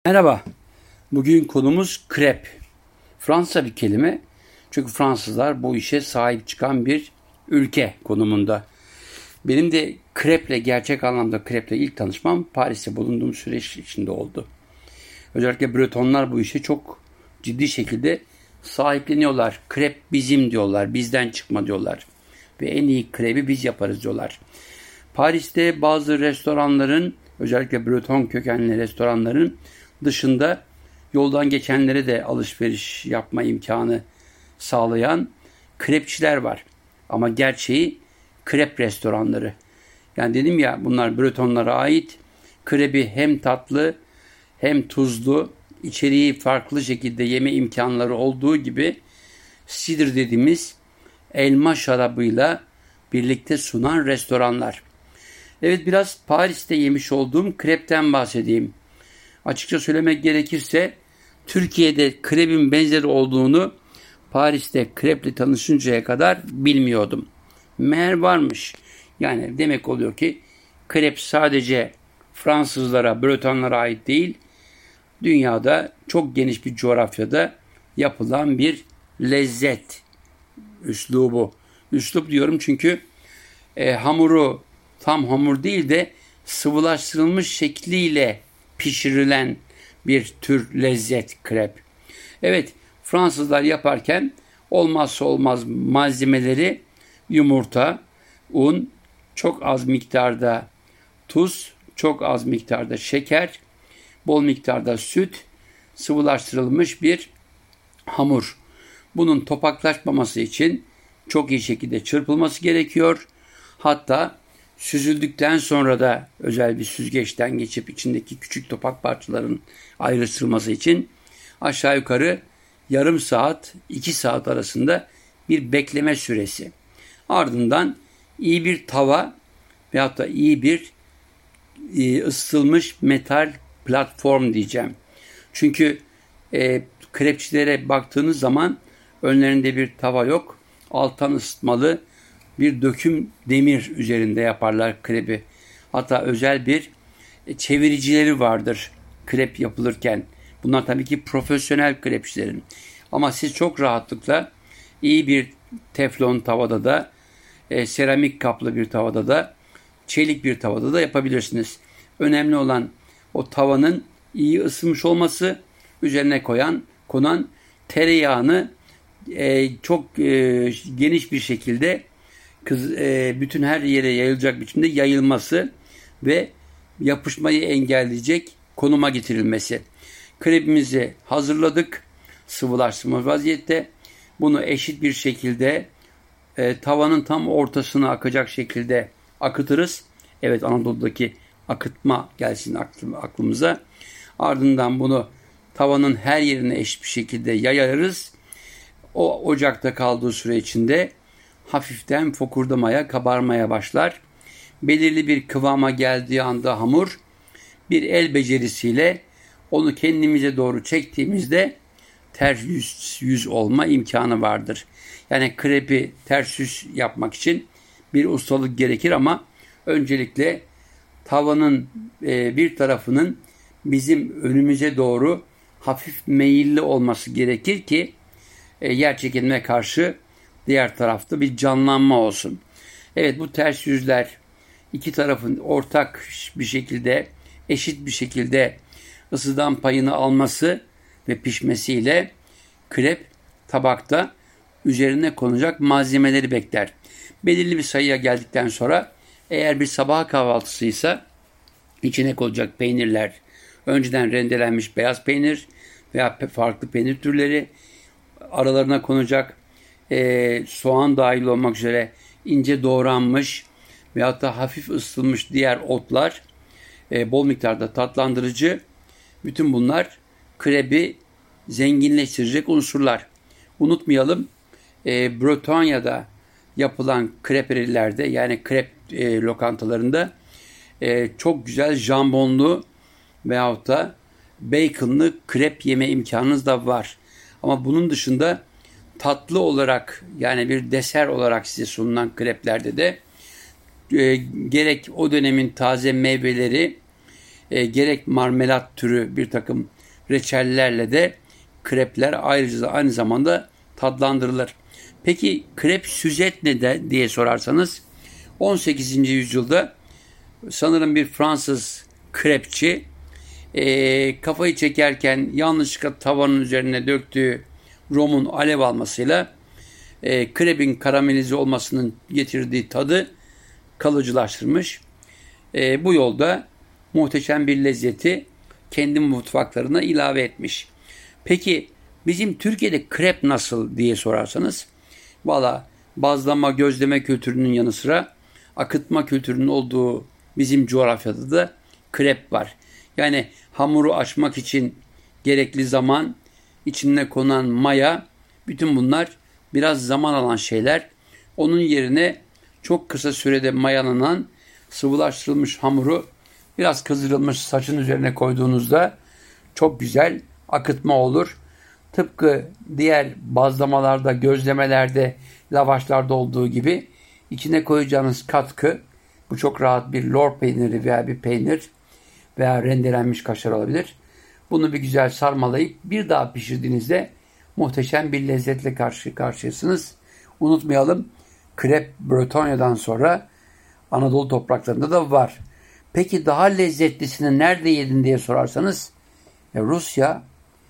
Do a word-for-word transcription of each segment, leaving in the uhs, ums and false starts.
Merhaba, bugün konumuz krep. Fransa bir kelime. Çünkü Fransızlar bu işe sahip çıkan bir ülke konumunda. Benim de kreple, gerçek anlamda kreple ilk tanışmam Paris'te bulunduğum süreç içinde oldu. Özellikle Bretonlar bu işe çok ciddi şekilde sahipleniyorlar. Krep bizim diyorlar, bizden çıkma diyorlar. Ve en iyi krebi biz yaparız diyorlar. Paris'te bazı restoranların, özellikle Breton kökenli restoranların dışında yoldan geçenlere de alışveriş yapma imkanı sağlayan krepçiler var. Ama gerçeği krep restoranları. Yani dedim ya, bunlar Bretonlara ait. Krebi hem tatlı hem tuzlu, içeriği farklı şekilde yeme imkanları olduğu gibi cider dediğimiz elma şarabıyla birlikte sunan restoranlar. Evet, biraz Paris'te yemiş olduğum krepten bahsedeyim. Açıkça söylemek gerekirse Türkiye'de krebin benzeri olduğunu Paris'te kreple tanışıncaya kadar bilmiyordum. Meğer varmış. Yani demek oluyor ki krep sadece Fransızlara, Bretonlara ait değil, dünyada çok geniş bir coğrafyada yapılan bir lezzet üslubu. Üslup diyorum çünkü e, hamuru tam hamur değil de sıvılaştırılmış şekliyle pişirilen bir tür lezzet krep. Evet, Fransızlar yaparken olmazsa olmaz malzemeleri yumurta, un, çok az miktarda tuz, çok az miktarda şeker, bol miktarda süt, sıvılaştırılmış bir hamur. Bunun topaklaşmaması için çok iyi şekilde çırpılması gerekiyor. Hatta süzüldükten sonra da özel bir süzgeçten geçip içindeki küçük topak parçaların ayrıştırılması için aşağı yukarı yarım saat, iki saat arasında bir bekleme süresi. Ardından iyi bir tava veyahut da iyi bir ısıtılmış metal platform diyeceğim. Çünkü e, krepçilere baktığınız zaman önlerinde bir tava yok. Alttan ısıtmalı bir döküm demir üzerinde yaparlar krepi. Hatta özel bir çeviricileri vardır krep yapılırken. Bunlar tabii ki profesyonel krepçilerin. Ama siz çok rahatlıkla iyi bir teflon tavada da, e, seramik kaplı bir tavada da, çelik bir tavada da yapabilirsiniz. Önemli olan o tavanın iyi ısınmış olması, üzerine koyan konan tereyağını e, çok e, geniş bir şekilde kız, e, bütün her yere yayılacak biçimde yayılması ve yapışmayı engelleyecek konuma getirilmesi. Krepimizi hazırladık. Sıvılaştırma vaziyette. Bunu eşit bir şekilde e, tavanın tam ortasına akacak şekilde akıtırız. Evet, Anadolu'daki akıtma gelsin aklımıza. Ardından bunu tavanın her yerine eşit bir şekilde yayarız. O ocakta kaldığı süre içinde hafiften fokurdamaya, kabarmaya başlar. Belirli bir kıvama geldiği anda hamur, bir el becerisiyle onu kendimize doğru çektiğimizde ters yüz, yüz olma imkanı vardır. Yani krepi ters yüz yapmak için bir ustalık gerekir ama öncelikle tavanın e, bir tarafının bizim önümüze doğru hafif meyilli olması gerekir ki e, yer çekimine karşı diğer tarafta bir canlanma olsun. Evet, bu ters yüzler iki tarafın ortak bir şekilde, eşit bir şekilde ısıdan payını alması ve pişmesiyle krep tabakta üzerine konacak malzemeleri bekler. Belirli bir sayıya geldikten sonra eğer bir sabah kahvaltısıysa içine konacak peynirler, önceden rendelenmiş beyaz peynir veya farklı peynir türleri, aralarına konacak e, soğan dahil olmak üzere ince doğranmış veyahut da hafif ısıtılmış diğer otlar, e, bol miktarda tatlandırıcı, bütün bunlar krebi zenginleştirecek unsurlar. Unutmayalım, e, Bretonya'da yapılan kreperilerde, yani krep e, lokantalarında e, çok güzel jambonlu veyahut da baconlı krep yeme imkanınız da var. Ama bunun dışında tatlı olarak, yani bir deser olarak size sunulan kreplerde de e, gerek o dönemin taze meyveleri, e, gerek marmelat türü bir takım reçellerle de krepler ayrıca aynı zamanda tadlandırılır. Peki krep süzet ne de diye sorarsanız on sekizinci yüzyılda sanırım bir Fransız krepçi e, kafayı çekerken yanlışlıkla tavanın üzerine döktüğü romun alev almasıyla e, krebin karamelize olmasının getirdiği tadı kalıcılaştırmış. E, bu yolda muhteşem bir lezzeti kendi mutfaklarına ilave etmiş. Peki bizim Türkiye'de krep nasıl diye sorarsanız, valla bazlama, gözleme kültürünün yanı sıra akıtma kültürünün olduğu bizim coğrafyada da krep var. Yani hamuru açmak için gerekli zaman, içine konan maya, bütün bunlar biraz zaman alan şeyler. Onun yerine çok kısa sürede mayalanan sıvılaştırılmış hamuru biraz kızdırılmış saçın üzerine koyduğunuzda çok güzel akıtma olur. Tıpkı diğer bazlamalarda, gözlemelerde, lavaşlarda olduğu gibi içine koyacağınız katkı, bu çok rahat bir lor peyniri veya bir peynir veya rendelenmiş kaşar olabilir. Bunu bir güzel sarmalayıp bir daha pişirdiğinizde muhteşem bir lezzetle karşı karşıyasınız. Unutmayalım, krep Bretonya'dan sonra Anadolu topraklarında da var. Peki daha lezzetlisini nerede yedin diye sorarsanız, e, Rusya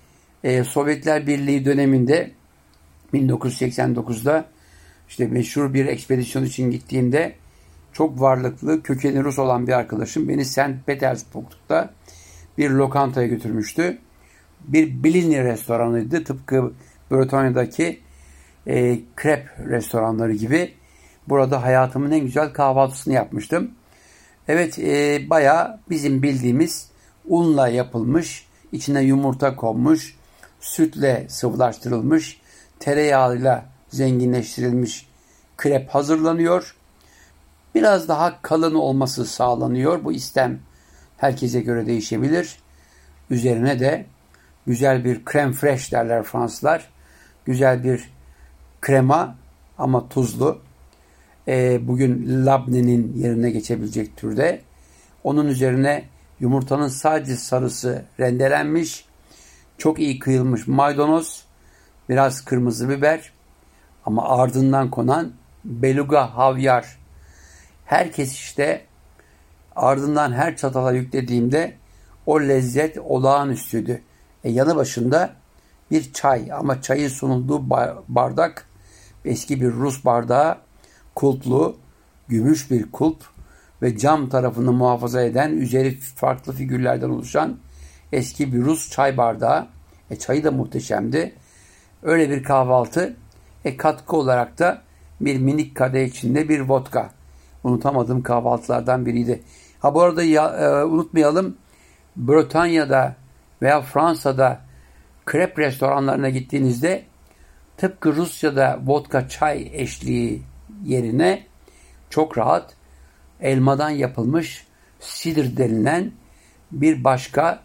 e, Sovyetler Birliği döneminde bin dokuz yüz seksen dokuzda işte meşhur bir ekspedisyon için gittiğimde çok varlıklı, kökeni Rus olan bir arkadaşım beni Sankt Petersburg'da bir lokantaya götürmüştü. Bir Blini restoranıydı. Tıpkı Bretonya'daki e, krep restoranları gibi. Burada hayatımın en güzel kahvaltısını yapmıştım. Evet, e, bayağı bizim bildiğimiz unla yapılmış, içine yumurta konmuş, sütle sıvılaştırılmış, tereyağıyla zenginleştirilmiş krep hazırlanıyor. Biraz daha kalın olması sağlanıyor. Bu istem herkese göre değişebilir. Üzerine de güzel bir crème fraîche derler Fransızlar. Güzel bir krema ama tuzlu. E, bugün labnenin yerine geçebilecek türde. Onun üzerine yumurtanın sadece sarısı rendelenmiş, çok iyi kıyılmış maydanoz, biraz kırmızı biber ama ardından konan beluga havyar. Herkes işte ardından her çatala yüklediğimde o lezzet olağanüstüydü. E, yanı başında bir çay, ama çayın sunulduğu bardak eski bir Rus bardağı, kulplu, gümüş bir kulp ve cam tarafını muhafaza eden, üzeri farklı figürlerden oluşan eski bir Rus çay bardağı. E, çayı da muhteşemdi. Öyle bir kahvaltı. E, katkı olarak da bir minik kadeh içinde bir vodka. Unutamadığım kahvaltılardan biriydi. Ha bu arada ya, e, unutmayalım, Bretonya'da veya Fransa'da krep restoranlarına gittiğinizde tıpkı Rusya'da vodka çay eşliği yerine çok rahat elmadan yapılmış sidr denilen bir başka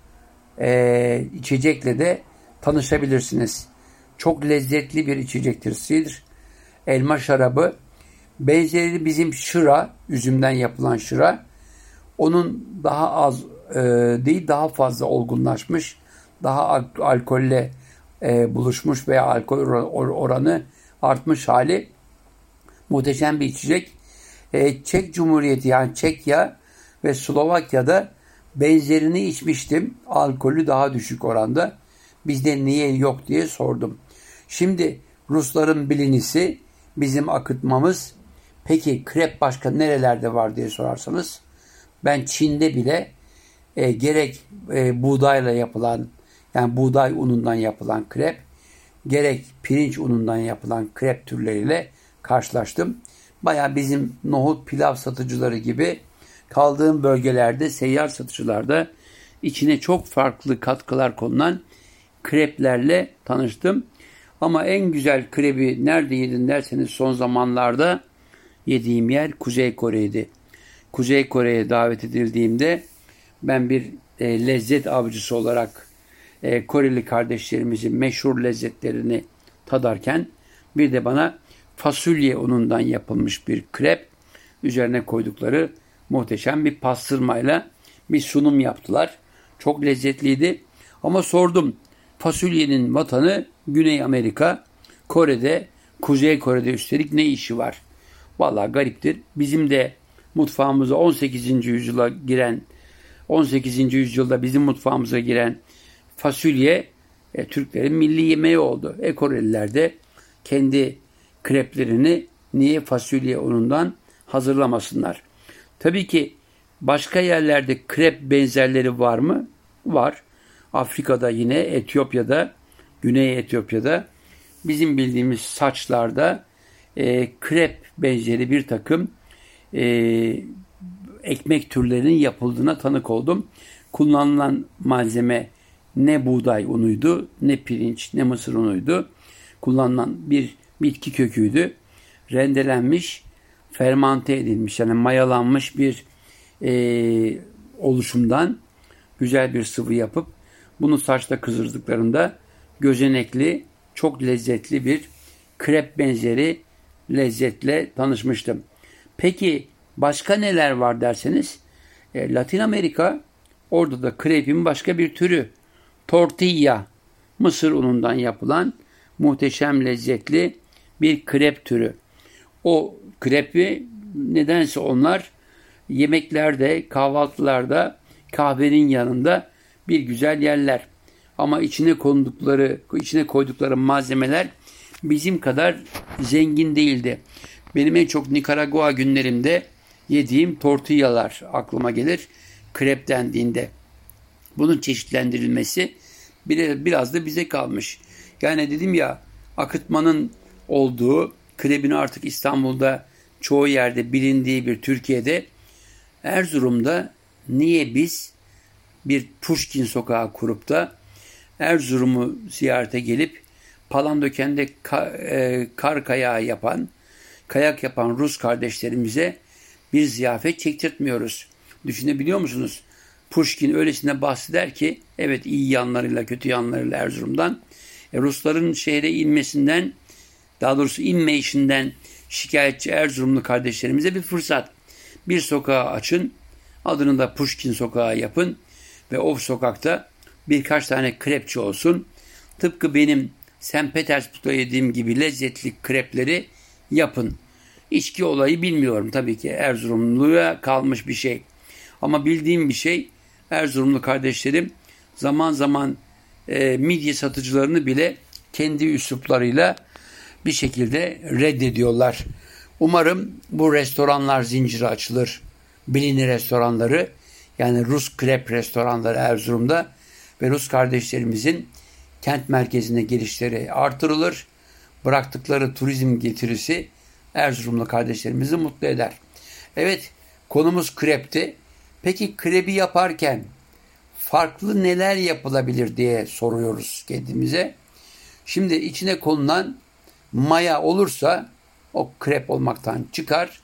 e, içecekle de tanışabilirsiniz. Çok lezzetli bir içecektir sidr. Elma şarabı. Benzeri bizim şıra, üzümden yapılan şıra. Onun daha az e, değil, daha fazla olgunlaşmış, daha al- alkolle e, buluşmuş veya alkol or- oranı artmış hali. Muhteşem bir içecek. E, Çek Cumhuriyeti, yani Çekya ve Slovakya'da benzerini içmiştim. Alkolü daha düşük oranda. Bizde niye yok diye sordum. Şimdi Rusların bilinisi, bizim akıtmamız. Peki krep başka nerelerde var diye sorarsanız, ben Çin'de bile e, gerek e, buğdayla yapılan, yani buğday unundan yapılan krep, gerek pirinç unundan yapılan krep türleriyle karşılaştım. Baya bizim nohut pilav satıcıları gibi kaldığım bölgelerde, seyyar satıcılarda içine çok farklı katkılar konulan kreplerle tanıştım. Ama en güzel krebi nerede yedin derseniz, son zamanlarda yediğim yer Kuzey Kore'ydi. Kuzey Kore'ye davet edildiğimde ben bir e, lezzet avcısı olarak e, Koreli kardeşlerimizin meşhur lezzetlerini tadarken bir de bana fasulye unundan yapılmış bir krep, üzerine koydukları muhteşem bir pastırmayla bir sunum yaptılar. Çok lezzetliydi. Ama sordum. Fasulyenin vatanı Güney Amerika, Kore'de, Kuzey Kore'de üstelik ne işi var? Vallahi gariptir. Bizim de mutfağımıza on sekizinci yüzyıla giren, on sekizinci yüzyılda bizim mutfağımıza giren fasulye e, Türklerin milli yemeği oldu. E Koreliler de kendi kreplerini niye fasulye unundan hazırlamasınlar? Tabii ki başka yerlerde krep benzerleri var mı? Var. Afrika'da yine Etiyopya'da, Güney Etiyopya'da bizim bildiğimiz saçlarda e, krep benzeri bir takım e, ekmek türlerinin yapıldığına tanık oldum. Kullanılan malzeme ne buğday unuydu, ne pirinç, ne mısır unuydu. Kullanılan bir bitki köküydü. Rendelenmiş, fermante edilmiş, yani mayalanmış bir e, oluşumdan güzel bir sıvı yapıp bunu saçta kızdırdıklarında gözenekli, çok lezzetli bir krep benzeri lezzetle tanışmıştım. Peki başka neler var derseniz, e, Latin Amerika, orada da krepin başka bir türü. Tortilla, mısır unundan yapılan muhteşem lezzetli bir krep türü. O krepi nedense onlar yemeklerde, kahvaltılarda, kahvenin yanında bir güzel yerler. Ama içine kondukları, içine koydukları malzemeler bizim kadar zengin değildi. Benim en çok Nikaragua günlerimde yediğim tortillalar aklıma gelir krep dendiğinde. Bunun çeşitlendirilmesi biraz da bize kalmış. Yani dedim ya, akıtmanın olduğu, krebin artık İstanbul'da çoğu yerde bilindiği bir Türkiye'de, Erzurum'da niye biz bir Pushkin sokağı kurup da Erzurum'u ziyarete gelip Palandöken'de kar kayağı yapan, kayak yapan Rus kardeşlerimize bir ziyafet çektirtmiyoruz? Düşünebiliyor musunuz? Pushkin öylesine bahseder ki, evet iyi yanlarıyla kötü yanlarıyla Erzurum'dan, e, Rusların şehre inmesinden, daha doğrusu inme işinden şikayetçi Erzurumlu kardeşlerimize bir fırsat. Bir sokağı açın, adını da Pushkin sokağı yapın ve o sokakta birkaç tane krepçi olsun. Tıpkı benim Sankt Petersburg'da yediğim gibi lezzetli krepleri yapın. İçki olayı bilmiyorum tabii ki, Erzurumluya kalmış bir şey. Ama bildiğim bir şey, Erzurumlu kardeşlerim zaman zaman e, midye satıcılarını bile kendi üsluplarıyla bir şekilde reddediyorlar. Umarım bu restoranlar zinciri açılır. Bilini restoranları, yani Rus krep restoranları Erzurum'da ve Rus kardeşlerimizin kent merkezine gelişleri artırılır. Bıraktıkları turizm getirisi Erzurumlu kardeşlerimizi mutlu eder. Evet, konumuz krepti. Peki krebi yaparken farklı neler yapılabilir diye soruyoruz kendimize. Şimdi içine konulan maya olursa o krep olmaktan çıkar.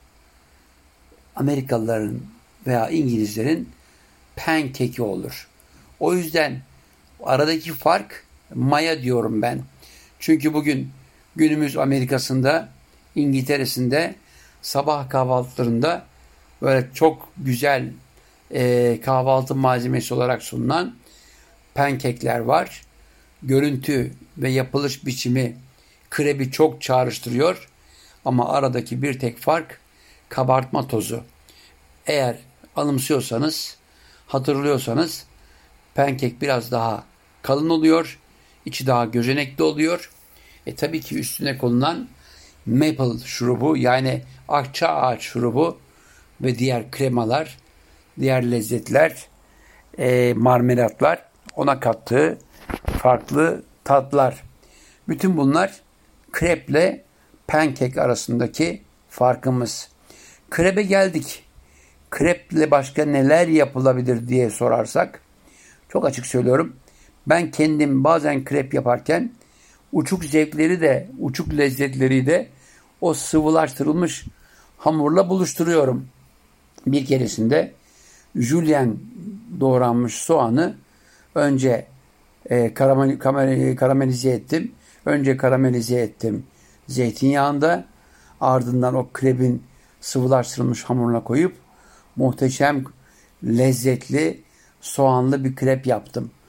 Amerikalıların veya İngilizlerin pancake'i olur. O yüzden aradaki fark maya diyorum ben. Çünkü bugün günümüz Amerika'sında, İngiltere'sinde sabah kahvaltılarında böyle çok güzel e, kahvaltı malzemesi olarak sunulan pancake'ler var. Görüntü ve yapılış biçimi krebi çok çağrıştırıyor. Ama aradaki bir tek fark kabartma tozu. Eğer anımsıyorsanız, hatırlıyorsanız, pankek biraz daha kalın oluyor. İçi daha gözenekli oluyor. E tabii ki üstüne konulan maple şurubu, yani akça ağaç şurubu ve diğer kremalar, diğer lezzetler, e, marmelatlar, ona kattığı farklı tatlar. Bütün bunlar kreple pankek arasındaki farkımız. Krebe geldik. Kreple başka neler yapılabilir diye sorarsak, çok açık söylüyorum, ben kendim bazen krep yaparken uçuk zevkleri de, uçuk lezzetleri de o sıvılaştırılmış hamurla buluşturuyorum. Bir keresinde jülyen doğranmış soğanı önce e, karamel, karamel, karamelize ettim. Önce karamelize ettim zeytinyağında. Ardından o krebin sıvılaştırılmış hamuruna koyup muhteşem lezzetli soğanlı bir krep yaptım.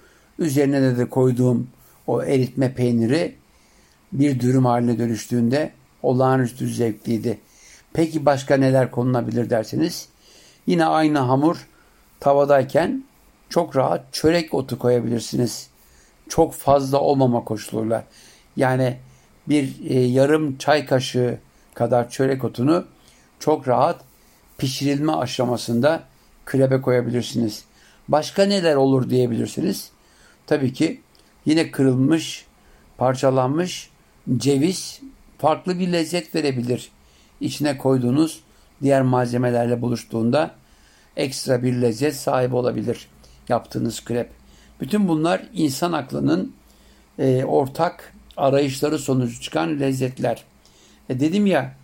Üzerine de, de koyduğum o eritme peyniri bir dürüm haline dönüştüğünde olağanüstü zevkliydi. Peki başka neler konulabilir derseniz, yine aynı hamur tavadayken çok rahat çörek otu koyabilirsiniz. Çok fazla olmama koşuluyla. Yani bir e, yarım çay kaşığı kadar çörek otunu çok rahat pişirilme aşamasında krebe koyabilirsiniz. Başka neler olur diyebilirsiniz. Tabii ki yine kırılmış, parçalanmış ceviz farklı bir lezzet verebilir. İçine koyduğunuz diğer malzemelerle buluştuğunda ekstra bir lezzet sahibi olabilir yaptığınız krep. Bütün bunlar insan aklının e, ortak arayışları sonucu çıkan lezzetler. E dedim ya,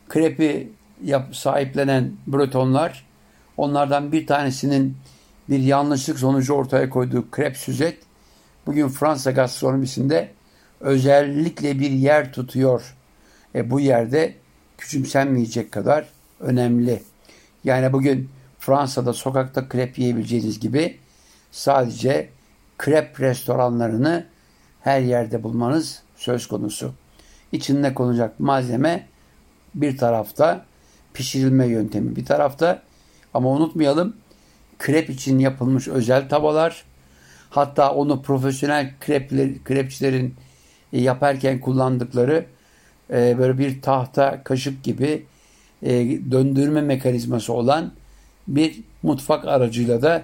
krepi yap, sahiplenen Bretonlar, onlardan bir tanesinin bir yanlışlık sonucu ortaya koyduğu krep süzet bugün Fransa gastronomisinde özellikle bir yer tutuyor. E bu yerde küçümsenmeyecek kadar önemli. Yani bugün Fransa'da sokakta krep yiyebileceğiniz gibi sadece krep restoranlarını her yerde bulmanız söz konusu. İçinde konacak malzeme bir tarafta, pişirilme yöntemi bir tarafta, ama unutmayalım, krep için yapılmış özel tavalar, hatta onu profesyonel krepler, krepçilerin yaparken kullandıkları e, böyle bir tahta kaşık gibi e, döndürme mekanizması olan bir mutfak aracıyla da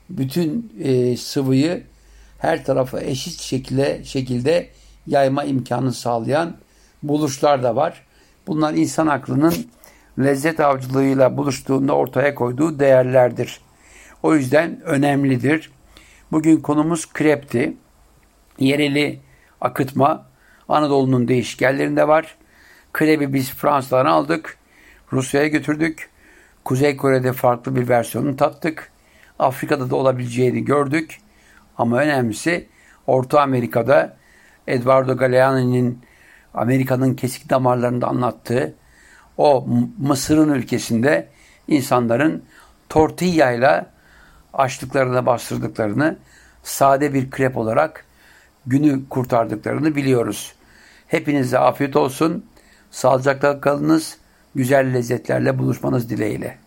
bütün e, sıvıyı her tarafa eşit şekilde, şekilde yayma imkanı sağlayan buluşlar da var. Bunlar insan aklının lezzet avcılığıyla buluştuğunda ortaya koyduğu değerlerdir. O yüzden önemlidir. Bugün konumuz krepti. Yereli akıtma Anadolu'nun değişik yerlerinde var. Krebi biz Fransa'dan aldık. Rusya'ya götürdük. Kuzey Kore'de farklı bir versiyonunu tattık. Afrika'da da olabileceğini gördük. Ama önemlisi Orta Amerika'da Eduardo Galeano'nun Amerika'nın kesik damarlarında anlattığı o Mısır'ın ülkesinde insanların tortilla ile açlıklarına bastırdıklarını, sade bir krep olarak günü kurtardıklarını biliyoruz. Hepinize afiyet olsun. Sağlıcakla kalınız. Güzel lezzetlerle buluşmanız dileğiyle.